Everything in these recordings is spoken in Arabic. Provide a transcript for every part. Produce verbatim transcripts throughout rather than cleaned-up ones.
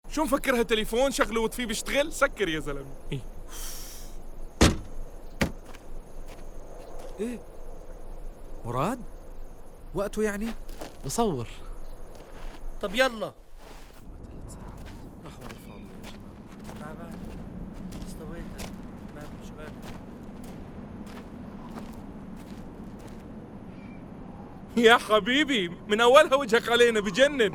شو مفكرها تليفون شغله وطفيه بيشتغل؟ سكر يا زلمه. ايه ايه مراد؟ وقته يعني؟ بصور. طب يلا. يا حبيبي من اولها وجهك علينا بجنن.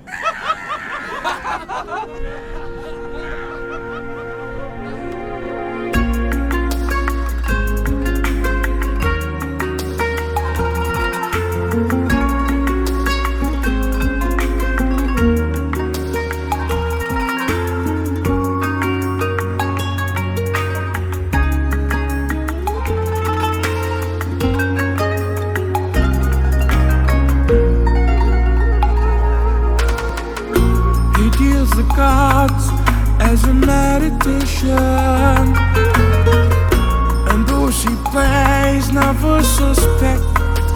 The gods as a meditation, and those he plays never suspect.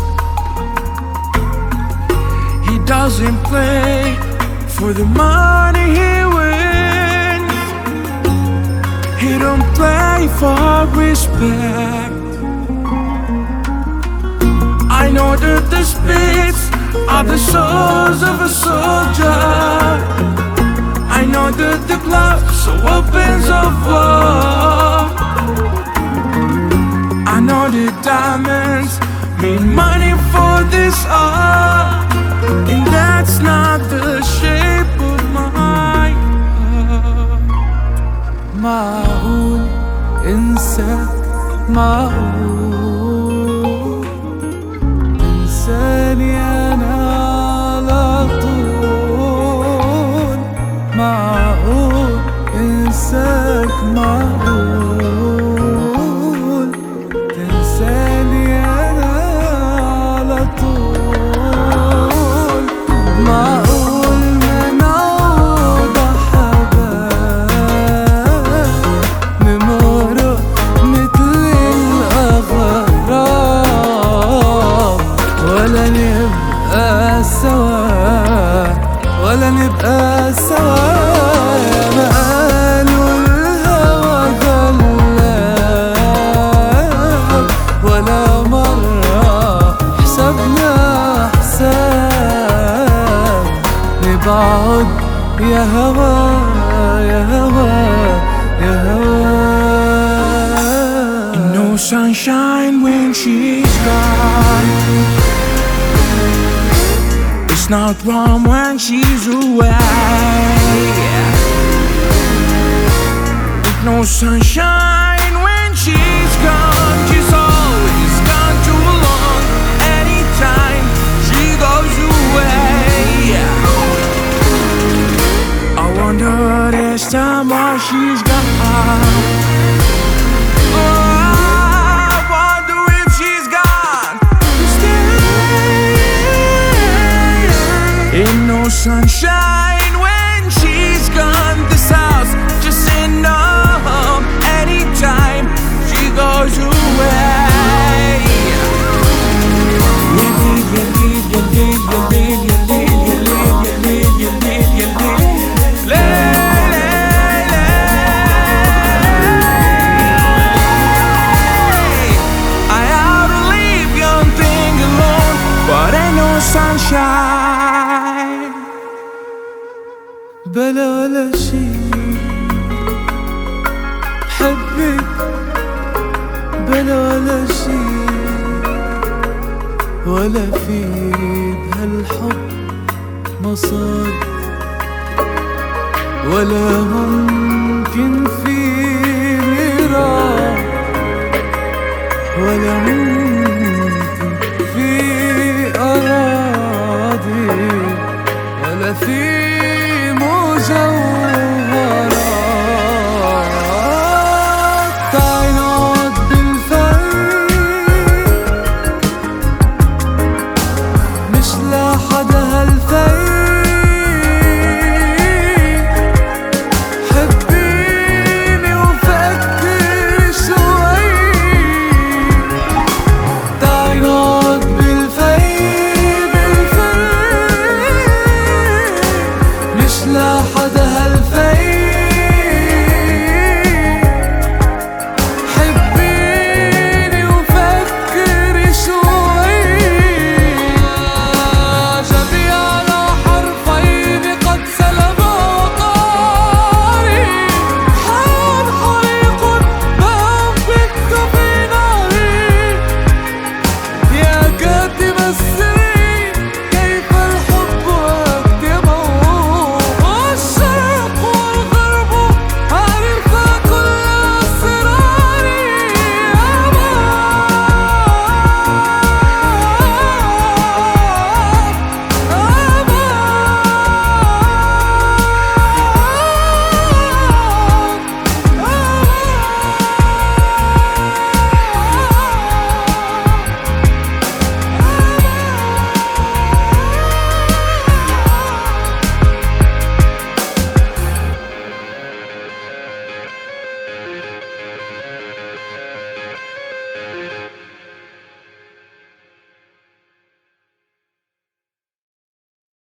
He doesn't play for the money he wins. He don't play for respect. I know that the spirits are the souls of a soldier. I know that the gloves are weapons of war. I know the diamonds mean money for this art, and that's not the shape of my heart. معقول انساك؟ معقول انساني انا على طول؟ معقول انساك؟ معقول تنساني انا على طول؟ معقول ما نعود حبايب نمرق مثل الاغراب، ولا نبقى سوا ولا نبقى سوا؟ ما قالوا الهوى غلاب، ولا مرة حسبنا حساب نبعد يا هوا يا هوا يا هوا. No sunshine when she's gone. It's not warm when she's away. No sunshine when she's gone. She's always gone too long. Anytime she goes away, I wonder this time why she's gone. Ain't no sunshine when she's gone. This house just ain't no home anytime she goes away. You leave, you leave, you leave, you leave, you leave, you leave, you leave, you leave, you leave. Lay, lay, lay. I ought to leave young thing alone, but ain't no sunshine. بلا ولا شي بحبك، بلا ولا شي ولا في بهالحب مصاد، ولا ممكن في ميراث، ولا ممكن